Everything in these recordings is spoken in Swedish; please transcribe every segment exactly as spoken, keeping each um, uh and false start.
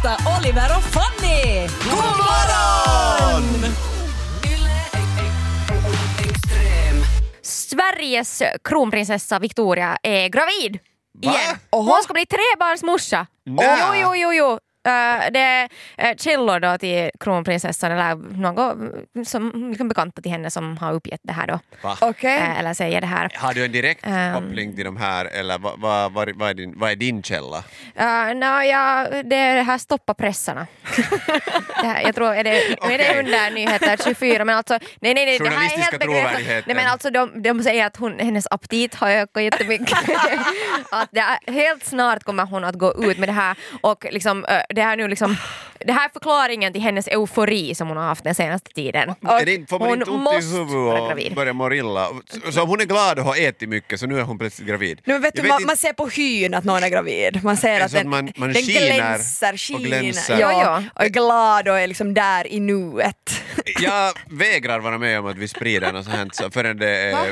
Lotta, Oliver och Fanny! God morgon! Sveriges kronprinsessa Victoria är gravid. Va? Igen. Och hon ska bli trebarnsmorsa. Nä. Jo, jo, jo, jo. Uh, det är uh, källor då till kronprinsessan eller något som liksom bekanta till henne som har uppgett det här då. Okay. Uh, eller säger det här. Har du en direkt Um, koppling till de här eller vad, vad, vad, vad, är, din, vad är din källa? Uh, no, ja, det är det här stoppa pressarna. det här, jag tror är det, okay. är det under nyheter tjugofyra men alltså nej nej nej det här är helt trovärdigheten. Nej men alltså de, de säger att hon, hennes aptit har ökat jättemycket. Att det är, helt snart kommer hon att gå ut med det här och liksom uh, det här nu liksom det här är förklaringen till hennes eufori som hon har haft den senaste tiden. Är det, får man hon inte ont måste i huvudet och börja må illa? Så, så hon är glad och har ätit mycket så nu är hon plötsligt gravid. Nu vet du, vet man, inte- man ser på hyn att någon är gravid. Man ser att Så att den, man- man den skiner glänser, och skiner. glänser. Ja, Ja, ja. och är glad och är liksom där i nuet. Jag vägrar vara med om att vi sprider något sånt så förrän det är...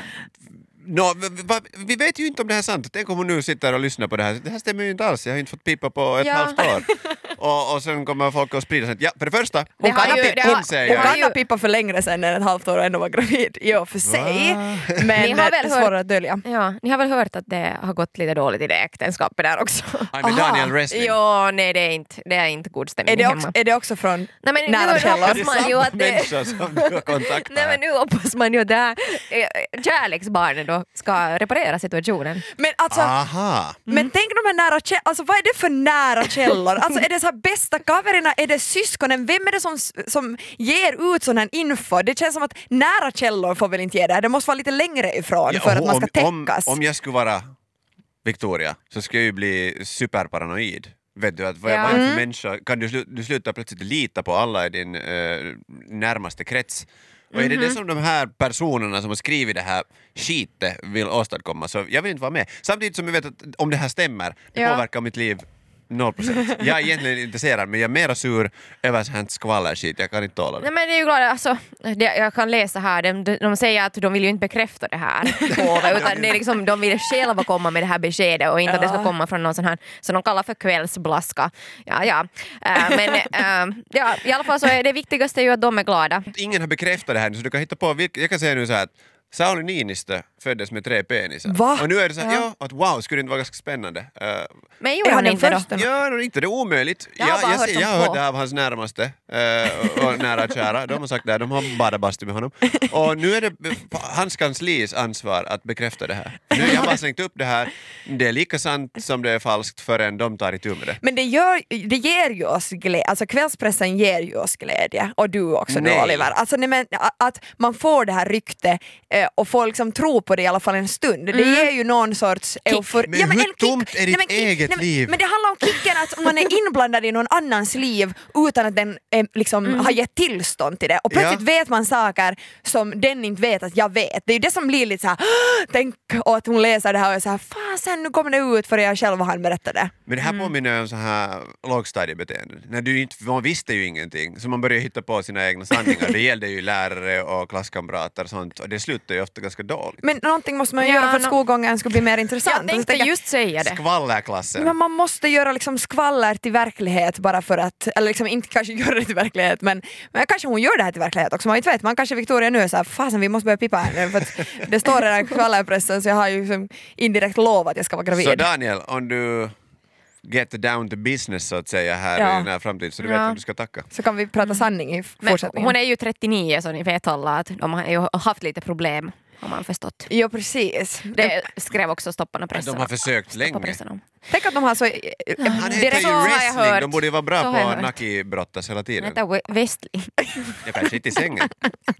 No, v- va, vi vet ju inte om det här är sant. Tänk om hon nu sitter och lyssnar på det här. Det här stämmer ju inte alls. Jag har inte fått pipa på ett Ja. halvt år. Och, och sen kommer folk att sprida sånt. Ja, för det första, Det hon har kan ju- ha det pippa, har- hon säger Hon jag. kan ha pippat för längre sedan än ett halvt år och ändå var gravid. Jo, för sig. Men Ni har väl det är hört- svårare att dölja. Ja, ni har väl hört att det har gått lite dåligt i det äktenskapet där också. Aj, med Daniel Wrestling. Ja, nej det är inte, det är inte god stämning Är det, hemma. också, är det också från Nej, men nära nu källor? hoppas man ju att det... Människa som du har kontaktat. Nej men nu hoppas man ju att det här eh, kärleksbarnet då ska reparera situationen. Men alltså, Aha. men tänk de här nära källor, alltså vad är det för nära källor? Alltså är det så här bästa kaverna, är det syskonen, vem är det som, som ger ut sån här info? Det känns som att nära källor får väl inte ge det här, det måste vara lite längre ifrån Ja, för att man ska om, täckas. om, om jag skulle vara Victoria så skulle jag ju bli superparanoid. Vet du, att vad, Ja. vad är det Mm. för människa? Kan du, slu, du sluta plötsligt lita på alla i din eh, närmaste krets? Och är det det som de här personerna som har skrivit det här skitet vill åstadkomma så jag vill inte vara med. Samtidigt som jag vet att om det här stämmer, det Ja. påverkar mitt liv noll procent. Jag är egentligen intresserad men jag är mera sur över sånt skvallerskit. Jag kan inte tåla det. Nej men det är ju glad, alltså, det, jag kan läsa här, de, de, de säger att de vill ju inte bekräfta det här på, utan det är liksom, de vill själva komma med det här beskedet och inte att det ska komma från någon sån här som de kallar för kvällsblaska. Ja, ja. Äh, men äh, ja, i alla fall så är det viktigaste ju att de är glada. Ingen har bekräftat det här så du kan hitta på vilka, jag kan säga nu så här att Sauli Niinistö föddes med tre penisar. Va? Och nu är det så här, ja. att wow, skulle det inte vara ganska spännande? Uh, Men Är gjorde han han den inte då? första? ja, nog inte, det är omöjligt. Jag har bara jag, hört ser- om jag har hört två. det av hans närmaste uh, och nära och kära. De har sagt det här, de har badat bastu med honom. Och nu är det på hans kanslis ansvar att bekräfta det här. Nu har jag bara slängt upp det här. Det är lika sant som det är falskt förrän de tar itu med det. Men det, gör, det ger ju oss glädje, alltså kvällspressen ger ju oss glädje och du också nu Nej. Oliver. Alltså nej, men, att man får det här rykte eh, och får liksom tro på det i alla fall en stund. Det ger ju någon sorts eufori. Men hur en kick- tomt är ditt nej, men kick- eget nej, men- liv? Men det handlar om kicken att man är inblandad i någon annans liv utan att den eh, liksom har gett tillstånd till det. Och plötsligt Ja. vet man saker som den inte vet att jag vet. Det är ju det som blir lite så här, "Åh, tänk och att hon läser det här och är så här, fasen nu kommer det ut för jag själv han berättade. Men det här påminner om så här lågstadiebeteende. När du inte, man visste ju ingenting så man började hitta på sina egna sanningar. Det gällde ju lärare och klasskamrater och sånt och det slutar ju ofta ganska dåligt. Men någonting måste man ju Ja, göra för att no- skolgången ska bli mer intressant. Jag Och så tänkte tänker jag, just säga det. Skvallerklassen. men man måste göra liksom skvaller till verklighet bara för att, eller liksom inte kanske göra det till verklighet men, men kanske hon gör det här till verklighet också, man inte vet, man kanske Victoria nu är såhär, fasen vi måste börja pipa här nu för att det står i den här skvallerpressen så jag har ju liksom indirekt lovat att jag ska vara gravid. Så Daniel, om du get down to business så att säga här Ja. i den här framtiden så du vet Ja. vad du ska tacka. Så kan vi prata sanning i Men fortsättningen. hon är ju trettionio så ni vet alla att de har ju haft lite problem har man förstått. Jo precis. Det skrev också Stopparna pressen. De har försökt Stoppa länge. pressen om. Tänk att de har så... eh, Han heter direkt- ju så har jag wrestling, hört. de borde ju vara bra Så har jag på hört. naki-brottas hela Den tiden. heter We- Westling. Jag kanske inte i sängen.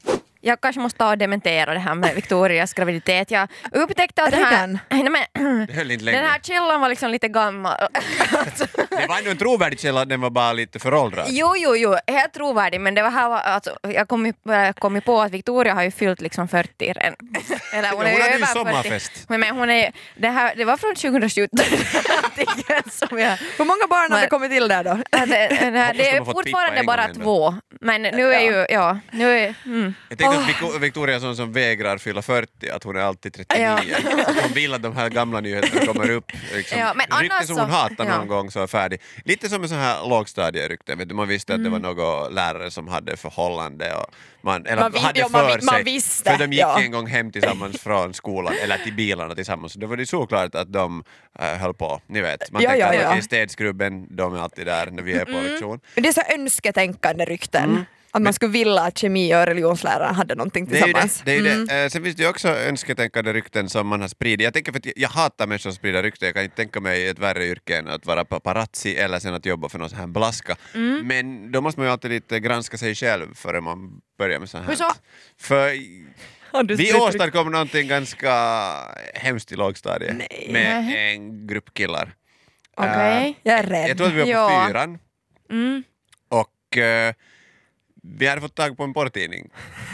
Jag kanske måste ta och dementera det här med Victorias graviditet. Jag upptäckte att det här... Redan? Nej, men, Det höll inte den länge. här källan var liksom lite gammal. Det var ändå en trovärdig källa, den var bara lite föråldrad. Jo, jo, jo, helt trovärdig, men det var här, alltså, jag kom ju, jag kom ju på att Victoria har ju fyllt liksom fyrtio redan. Eller Hon är hade ju över sommarfest. fyrtio. Men, men hon är, det, här, det var från tjugosjutton. som jag, Hur många barn har Men- det kommit till där då? det, det, här, Hoppas de det har är fått fortfarande pippa en bara gång ändå. två, Men nu är ju, ja, nu är, mm. Jag tänkte att Vic- Victoria är sån som vägrar fylla fyrtio, att hon är alltid trettionio. Ja. Att hon vill att de här gamla nyheterna kommer upp. Liksom. Ja, men Rykten annars som hon så- hatar någon ja. gång så är färdig. Lite som en sån här lågstadierykten. Vet du, man visste att det var Mm. någon lärare som hade förhållande. Och man, eller Man vi- hade ja, för man vi- man sig. visste, För de gick ja. en gång hem tillsammans från skolan, eller till bilarna tillsammans. Det var det såklart att de äh, höll på. Ni vet, man Ja, tänker ja, att ja. okej, städskrubben, de är alltid där när vi är på lektion. Men det är så önsketänkande rykten. Mm. Att man skulle vilja att kemi och religionslärare hade någonting Det är ju det. tillsammans. det, är ju Mm. det. Eh, sen finns det ju också önsketänkande rykten som man har spridit. Jag tänker för att jag, jag hatar människor som sprider rykten. Jag kan inte tänka mig ett värre yrke än att vara paparazzi eller sen att jobba för någon sån här blaska. Mm. Men då måste man ju alltid lite granska sig själv före man börjar med sånt här. Hur så? För Har du vi spritt rykten? åstadkom någonting ganska hemskt i lågstadiet Nej. med Nej. en grupp killar. Okej. Eh, Jag är rädd. jag tror att vi var på Ja. fyran Mm. och eh, vi hade fått tag på en porrtidning.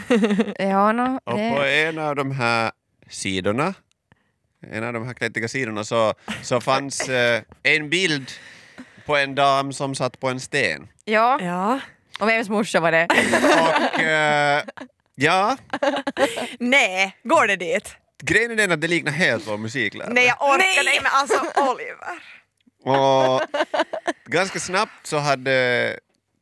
Ja, no, Och på det, en av de här sidorna, en av de här klättiga sidorna så, så fanns eh, en bild på en dam som satt på en sten. ja. Ja. Och vems morsa var det? Och eh, ja, Nej, går det dit? grejen är den att det liknar helt vår musiklärare. Nej, jag orkar nej, men alltså Oliver. Och ganska snabbt så hade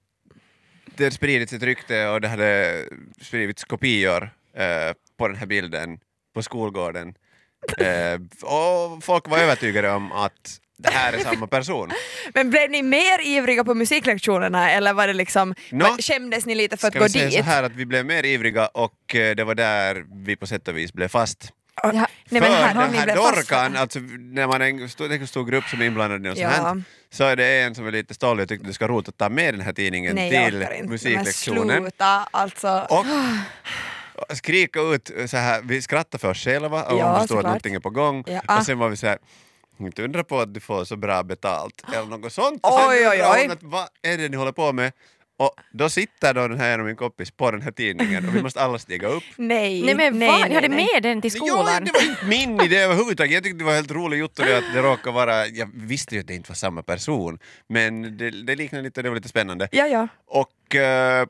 det spridits ett rykte och det hade spridits kopior eh, på den här bilden på skolgården. Eh, och folk var övertygade om att det här är samma person. Men blev ni mer ivriga på musiklektionerna eller var det liksom, Nå. var, skämdes ni lite för att Ska gå vi säga dit? så här att vi blev mer ivriga och eh, det var där vi på sätt och vis blev fast. Ja. Nej, För men här, har den ni här blivit fast Dorkan, för? alltså när man är en stor, en stor grupp som är inblandad i något Ja. sånt här, så är det en som är lite stollig och tyckte du ska rota att ta med den här tidningen Nej, jag till orkar inte. musiklektionen. Men sluta, alltså. Och skrika ut så här, vi skrattar för oss själva och Ja, man förstår att såklart. någonting är på gång. Ja. Och sen var vi så här, inte undra på att du får så bra betalt. Eller något sånt. Oj, Och sen oj, undrar hon oj. Att, vad är det ni håller på med? Och då sitter då den här och min kompis på den här tidningen och vi måste alla stiga upp. Nej, Nej men nej, vad? Ni nej, hade nej. med den till Jo, skolan? det var inte min idé överhuvudtaget. Jag tyckte det var helt roligt gjort och det att det råkade vara, jag visste ju att det inte var samma person, men det, det liknade lite, det var lite spännande. Ja, ja. Och eh,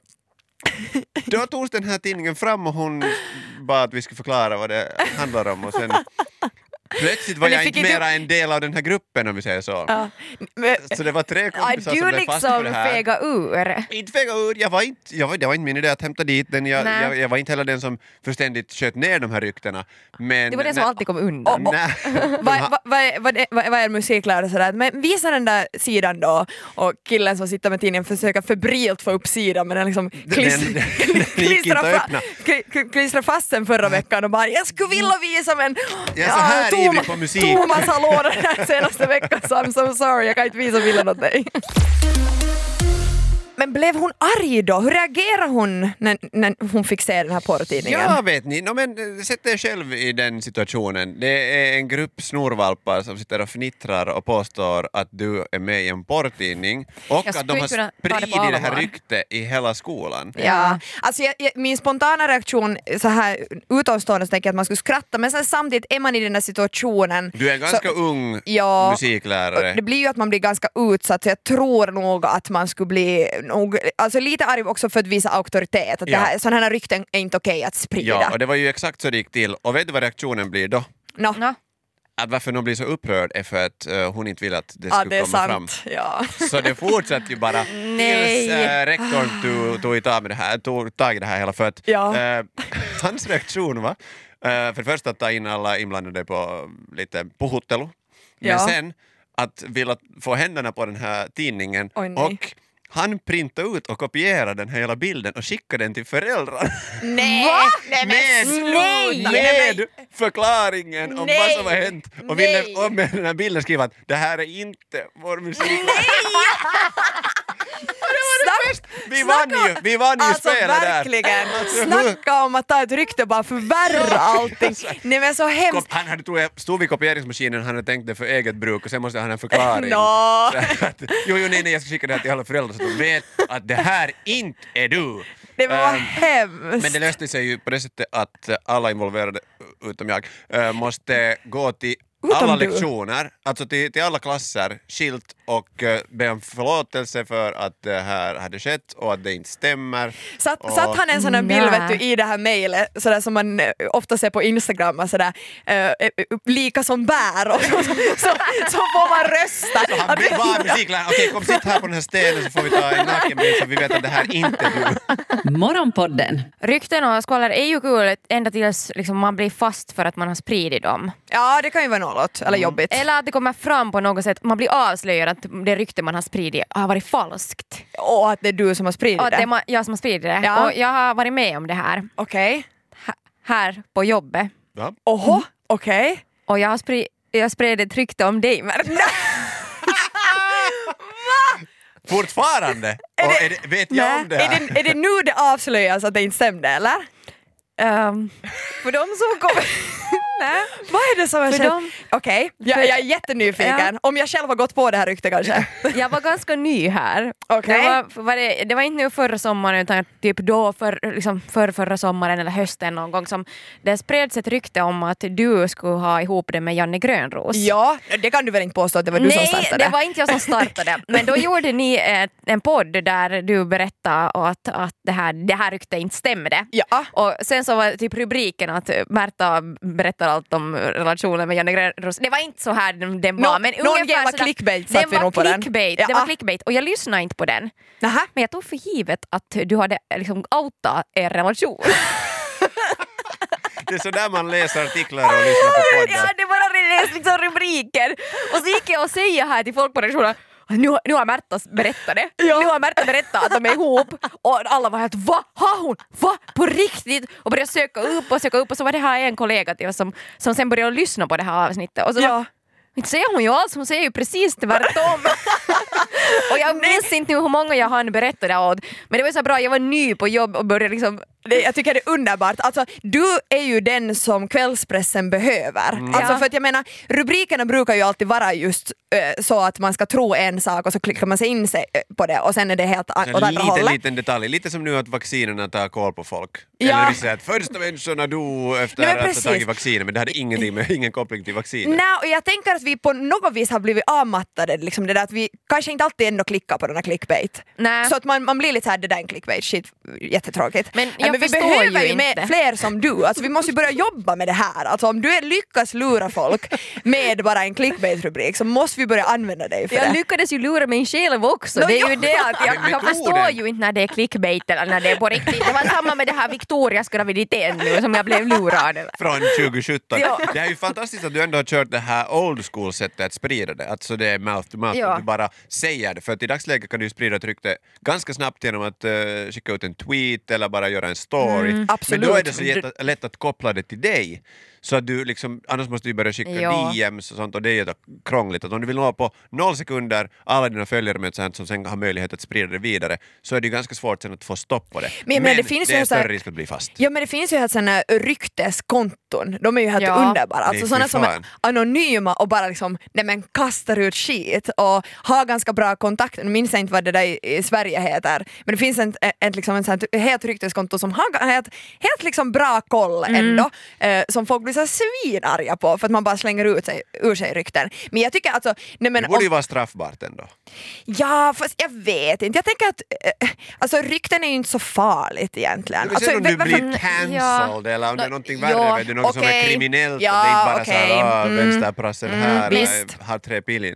då togs den här tidningen fram och hon bad att vi skulle förklara vad det handlar om och sen plötsligt var Men ni jag fick inte inte- mera en del av den här gruppen om vi säger så. Ja. Men, Så det var tre Ja, kompisar som du blev fast på liksom det här. fega ur. Inte fega ur, jag var inte, jag var, det var inte min idé att hämta dit den, jag, Nej. jag, jag var inte heller den som förständigt sköt ner de här ryktena. Men, Det var den som nej- alltid kom undan. Nej. vad, vad, vad, vad, vad, vad är musiklärare sådär? Men visa den där sidan då och killen som sitter med tidningen försöker febrilt få upp sidan men den liksom kliss, Den- den- den gick inte att klistrar, öppna. kli- kli- klistrar fast den förra veckan och bara jag skulle vilja visa men Jag är så här Toma- ivrig på musik. Thomas har lånat den här senaste veckan så I'm so sorry jag kan inte visa bilden åt dig. Men blev hon arg då? Hur reagerade hon när, när hon fick se den här porrtidningen? Ja, vet ni. No, men, eh, sätt er själv i den situationen. Det är en grupp snorvalpar som sitter och fnittrar och påstår att du är med i en porrtidning och Jag att de skulle har kunna ta det på spridit det här allvar. ryktet i hela skolan. Ja, alltså jag, jag, min spontana reaktion så här utomstående så tänker jag att man skulle skratta men sen samtidigt är man i den här situationen. Du är en ganska så, ung Ja, musiklärare. det blir ju att man blir ganska utsatt så jag tror nog att man skulle bli nog, alltså lite arg också för att visa auktoritet. Att Ja. det här, sådana här rykten är inte okej att sprida. Ja, och det var ju exakt så det gick till. Och vet du vad reaktionen blir då? no. Nå, Att varför någon blir så upprörd är för att uh, hon inte vill att det Ja, skulle det är komma fram. sant. Ja. Så det fortsatte ju bara Nej. tills äh, rektorn tog, tog, tag med det här, tog tag i det här hela för att Ja. äh, hans reaktion var äh, för det första att ta in alla inblandade på lite puhuttelu, men Ja. sen att vilja få händerna på den här tidningen Oj, nej. och han printade ut och kopierade den här hela bilden och skickade den till föräldrar. Nej! Nej, men Med, sluta! med förklaringen om Nej. vad som har hänt och ville Nej. och med den här bilden skriva att det här är inte vår musik. Snack, Vi vann ju, vi vann ju alltså spelet där. verkligen, Alltså, hur- snacka om att ta ett rykte bara förvärra allting. Nej men så hemskt. Kop- Han hade, tror jag, stod vid kopieringsmaskinen, han hade tänkt det för eget bruk och sen måste han ha en förklaring. Nå. Så att, jo, jo, nej, nej, jag ska skicka det här till alla föräldrar så att de vet att det här inte är du. Det var Ehm, hemskt. Men det löste sig ju på det sättet att alla involverade, utom jag, äh, måste gå till Utom alla du. lektioner, alltså till, till alla klasser, skilt och uh, be om förlåtelse för att det här hade skett och att det inte stämmer. Satt, och... satt han en sån här bild Nej. vet du, i det här mejlet sådär som man eh, ofta ser på Instagram och sådär, eh, eh, lika som bär och så, så, så, så får man rösta. Så han blev bara musiklärare. Okej, kom sitt här på den här stenen så får vi ta en nakenbild så vi vet att det här inte är du. Morgonpodden. Rykten och skvaller är ju kul ända tills liksom, man blir fast för att man har spridit dem. Ja, det kan ju vara något, eller jobbigt. Eller att det kommer fram på något sätt, man blir avslöjad att det rykte man har spridit har varit falskt. Och att det är du som har spridit Och att det. det är ma- jag som har spridit det. Ja. Och jag har varit med om det här. Okej. H- här på jobbet. Ja. Oho, okej. Och jag har spri- jag spred ett rykte om dig, Märta. Fortfarande? Och är det, vet jag om det är, här? det, är det nu det avslöjas att det inte stämde, eller? Um, för de som kommer... Nej. Vad är det som har För skett? dem- Okej, jag, jag är jättenyfiken. Om jag själv har gått på det här ryktet kanske. Jag var ganska ny här. Okej. Det, var, var det, det var inte nu förra sommaren utan typ då för, liksom för förra sommaren eller hösten någon gång som det spreds ett rykte om att du skulle ha ihop det med Janne Grönros. Ja, det kan du väl inte påstå att det var du Nej, som startade? det var inte jag som startade. Men då gjorde ni ett, en podd där du berättade att, att det, här, det här ryktet inte stämde. Ja. Och sen så var typ rubriken att Märta berättar allt om relationen med Janne Grönros. Det var inte så här den, den var. Nå- men någon ungefär jävla sådär- clickbait satt den vi var nog på den. clickbait. Ja. Det var clickbait och jag lyssnade inte på den. Nähä. Men jag tog för givet att du hade liksom outat er relation. Det är så där man läser artiklar och lyssnar på Ja, poddar. det bara läste liksom rubriker. Och så gick jag och säga här till folk på redaktionen nu, nu har Märta berättat det. Ja. Nu har Märta berättat att de är ihop. Och alla var helt, va? Har hon? Va? På riktigt? Och började söka upp och söka upp. Och så var det här en kollega till oss som, som sen började lyssna på det här avsnittet. Och så Ja. var, inte säger hon ju alls, hon säger ju precis tvärtom. Och jag minns inte nu hur många jag hann berätta det åt. Men det var så bra, jag var ny på jobb och började liksom... Det, jag tycker det är underbart. Alltså, du är ju den som kvällspressen behöver. Mm. Alltså, Ja. för att jag menar, rubrikerna brukar ju alltid vara just eh, så att man ska tro en sak och så klickar man sig in sig eh, på det och sen är det helt a- åt En andra liten, hållet. liten detalj, lite som nu att vaccinerna tar koll på folk. Ja. Eller vi säger att första människorna dog efter Nej, men att ha precis. tagit vacciner, men det hade ingenting med, ingen koppling till vacciner. Nej, och jag tänker att vi på något vis har blivit avmattade, liksom det där att vi kanske inte alltid ändå klickar på den här clickbait. Nej. Så att man, man blir lite såhär, det där är en clickbait, shit, jättetråkigt. Men Nej, jag men vi förstår behöver ju ju med inte. fler som du, alltså vi måste ju börja jobba med det här. Alltså om du är lyckas lura folk med bara en clickbait-rubrik så måste vi börja använda dig för Jag det. lyckades ju lura mig själv också. Nå, Det är ju ja. det att jag, Men jag metoden- förstår ju inte när det är clickbait eller när det är på riktigt. Det var samma med det här Victorias graviditet nu som jag blev lurad över. Från tjugo sjutton. Ja. Det är ju fantastiskt att du ändå har kört det här old school sättet att sprida det. Alltså det är mouth to mouth, Ja. att du bara säger det. För att i dagsläget kan du ju sprida ett rykte ganska snabbt genom att uh, skicka ut en tweet eller bara göra en story. absolut. Men då är det så jätte, lätt att koppla det till dig. Så att du liksom, annars måste du börja skicka Ja. D Ms och sånt och det är ju krångligt. Att om du vill nå på noll sekunder alla dina följare med ett sånt som sen har möjlighet att sprida det vidare så är det ju ganska svårt sen att få stopp på det. Men- men det finns det ju är så här- större risk att bli fast. Ja, men det finns ju helt sådana rykteskonton, de är ju helt Ja. underbara. Alltså Nej, sådana fy som är fan. anonyma och bara liksom, nej men kastar ut skit och har ganska bra kontakt. Nu minns jag inte vad det där i, i Sverige heter, men det finns en, en, liksom en sån här helt rykteskonto som har helt, helt liksom bra koll ändå, eh, som folk blir så svinarga på för att man bara slänger ut sig, ur sig rykten. Men jag tycker alltså, nej men Det borde om, ju vara straffbart ändå. ja fast jag vet inte, jag tänker att eh, alltså rykten är ju inte så farligt egentligen. Men Alltså, sen om du varför- blir cancelled eller om det är någonting värre, Ja, vet du, något som är okej. kriminellt Ja, och det är inte bara okej. såhär Mm. vänsterprassel här, visst. äh, har tre pillin.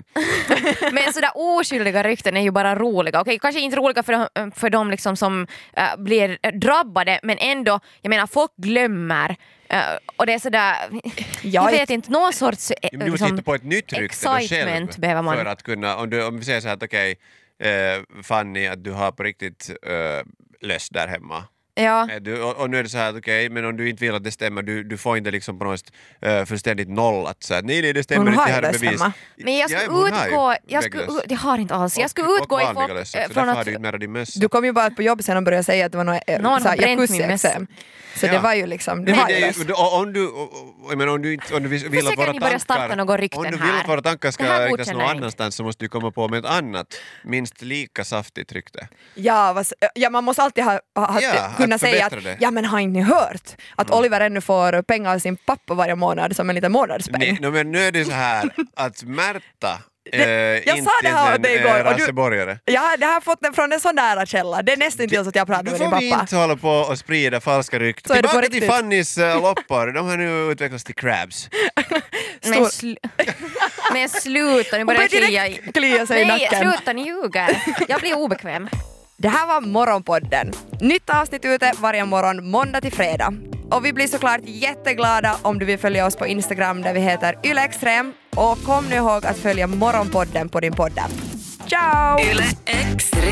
Men sådär oskyldiga rykten är ju bara roliga. Okej, kanske inte roliga för de, för de liksom som äh, blir drabbade, men ändå, jag menar, folk glömmer. Äh, och det är sådär, Ja, jag vet inte, någon sorts äh, Du måste liksom, hitta på ett nytt rykte då själv excitement behöver man. för att kunna, om, du, om vi säger så här att okej, eh, Fanny, att du har på riktigt eh, löst där hemma. Ja. Eh, Du, och, och nu är det så här att okej, men om du inte vill att det stämmer, du, du får inte liksom på något sätt uh, fullständigt nollat så att nej, nej, det stämmer Hon inte, har det här ju är löst bevis. hemma. Men jag Ja, skulle hon har ju utgå, jag, skulle, vägglöss. jag har inte alls, jag skulle Och- utgå och ifrån vanliga löss också, äh, från därför har att du inte med din mössa. Du kom ju bara på jobb sen och började säga att det var något äh, Någon så har här bränt min jacuzzi-exem. Så Ja. det var ju liksom, du Nej, har det ju är löst. ju- och om du, och- och- jag menar, om du inte om du vill vill att Försöker våra ni börja starta tankar, några rykten om du vill här? att våra tankar ska Det här riktas godkänner någon jag inte. annanstans så måste du komma på med ett annat, minst lika saftigt rykte. Ja, vad, ja, man måste alltid ha, ha, Ja, kunna att säga att förbättra det. ja men har inte ni hört att Oliver ännu får pengar av sin pappa varje månad som en liten månadspeng? Nej, no, men nu är det så här att Märta Det, äh, jag sa det här åt dig igår. Äh, rasseborgare. Ja, det har fått den från en sån nära källa. Det är nästan till så att jag pratar med din pappa. Nu får vi inte hålla på och sprida falska rykten. Så är det på Tillbaka till riktigt. Fannys uh, loppor. De har nu utvecklats till crabs. Men, sl- men sluta, nu Hon börjar börjar klia direkt klia sig i Nej, nacken. sluta, ni ljuger. Jag blir obekväm. Det här var Morgonpodden. Nytt avsnitt ute varje morgon måndag till fredag. Och vi blir såklart jätteglada om du vill följa oss på Instagram där vi heter ylextrem. Och kom nu ihåg att följa Morgonpodden på din podd. Ciao! Yle Extrem.